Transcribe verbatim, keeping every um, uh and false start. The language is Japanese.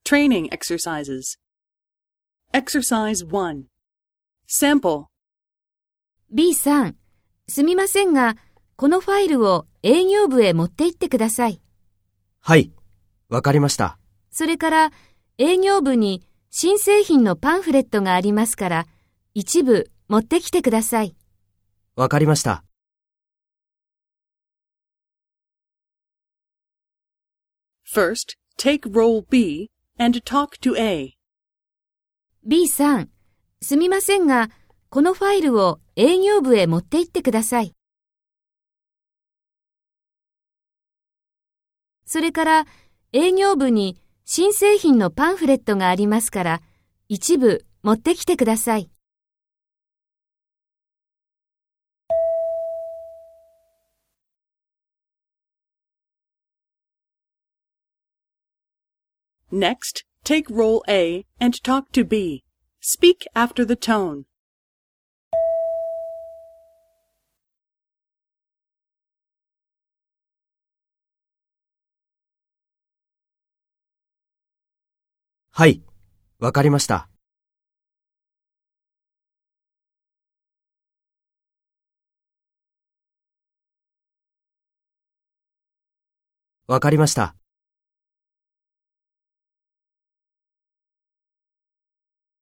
Training exercises. Exercise one. Sample. B さん、すみませんが、このファイルを営業部へ持って行ってください。 はい、わかりました。 それから営業部に新製品のパンフレットがありますから、一部持ってきてください。 わかりました。 First, take role B and talk to A. B さん、すみませんが、このファイルを営業部へ持って行ってください。それから営業部に新製品のパンフレットがありますから、一部持ってきてください。 Next, take role A and talk to B. Speak after the tone. はい、わかりました。わかりました。